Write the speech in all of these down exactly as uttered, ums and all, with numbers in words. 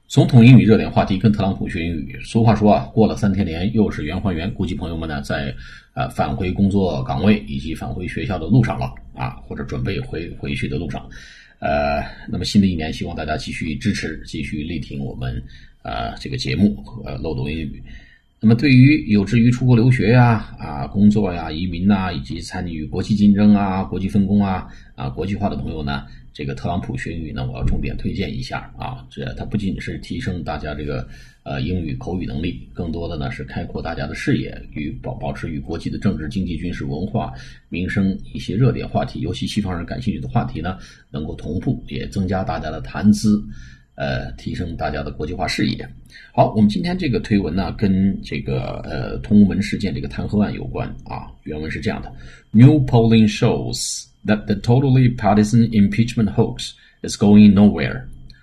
总统英语热点话题跟特朗普学英语。俗话说啊，过了三天年又是圆还原，估计朋友们呢在呃返回工作岗位以及返回学校的路上了啊，或者准备回回去的路上。呃，那么新的一年，希望大家继续支持，继续力挺我们呃这个节目和漏斗英语。那么对于有志于出国留学呀、啊工作呀、移民呐、以及参与国际竞争啊、国际分工啊、啊国际化的朋友呢，这个特朗普学英语呢，我要重点推荐一下啊。这它不仅是提升大家这个呃英语口语能力，更多的呢是开阔大家的视野，与保保持与国际的政治、经济、军事、文化、民生一些热点话题，尤其西方人感兴趣的话题呢，能够同步，也增加大家的谈资。呃，提升大家的国际化视野。好，我们今天这个推文呢，跟这个呃通文事件这个弹劾案有关啊。原文是这样的 ：New polling shows that the totally partisan impeachment hoax is going nowhere.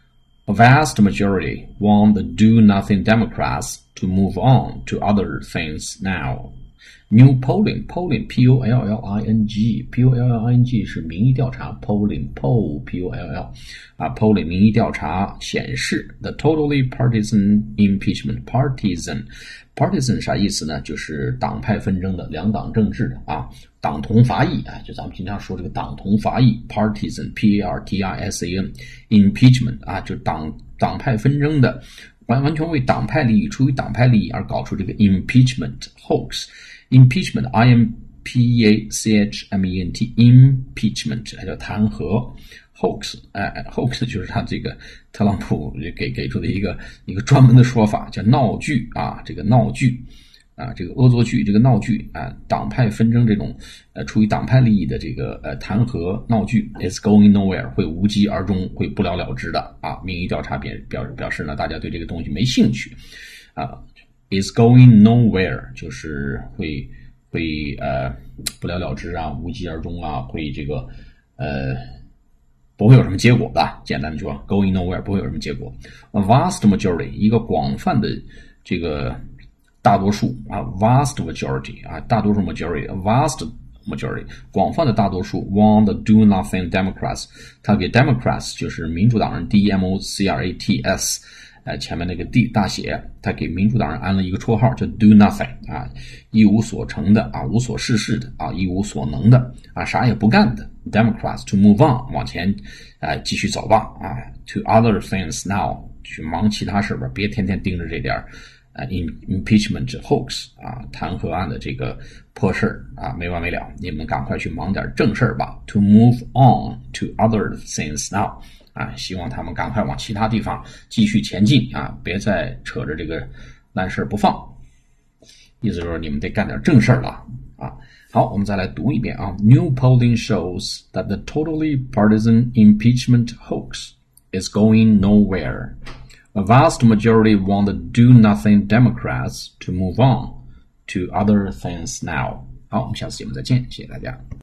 A vast majority want the do-nothing Democrats to move on to other things now. New polling, polling, P O L L I N G, P O L L I N G 是民意调查 polling, poll, P O L L 啊 polling 民意调查显示 the totally partisan impeachment, partisan, partisan 啥意思呢？就是党派纷争的，两党政治的啊，党同伐异啊，就咱们经常说这个党同伐异 partisan, P A R T I S A N, impeachment 啊，就党党派纷争的，完完全为党派利益，出于党派利益而搞出这个 impeachment hoax。Impeachment, I M P E A C H M E N T, impeachment 还叫弹劾 hoax， 哎 hoax 就是他这个特朗普给给出的一个一个专门的说法，叫闹剧啊，这个闹剧啊，这个恶作剧，这个闹剧啊，党派纷争这种呃出于党派利益的这个呃弹劾闹剧 is going nowhere， 会无疾而终，会不了了之的啊。民意调查表表表示呢，大家对这个东西没兴趣啊。is going nowhere 就是会会呃不了了之啊，无疾而终啊，会这个呃不会有什么结果的。简单的说 ，going nowhere 不会有什么结果。A vast majority 一个广泛的这个大多数啊 ，vast majority 啊，大多数 majority，a vast majority 广泛的大多数 want the do nothing Democrats， 他给 Democrats 就是民主党人 D M O C R A T S。呃，前面那个 D 大写，他给民主党人安了一个绰号叫 do nothing 啊，一无所成的啊，无所事事的啊，一无所能的啊，啥也不干的 Democrats to move on 往前啊继续走吧啊 to other things now 去忙其他事吧，别天天盯着这点啊 impeachment hoax 啊弹劾案的这个破事啊没完没了，你们赶快去忙点正事吧 to move on to other things now。啊，希望他们赶快往其他地方继续前进啊，别再扯着这个烂事不放。意思就是你们得干点正事了啊。好，我们再来读一遍啊。New polling shows that the totally partisan impeachment hoax is going nowhere. A vast majority want the do-nothing Democrats to move on to other things now. 好，我们下次节目再见，谢谢大家。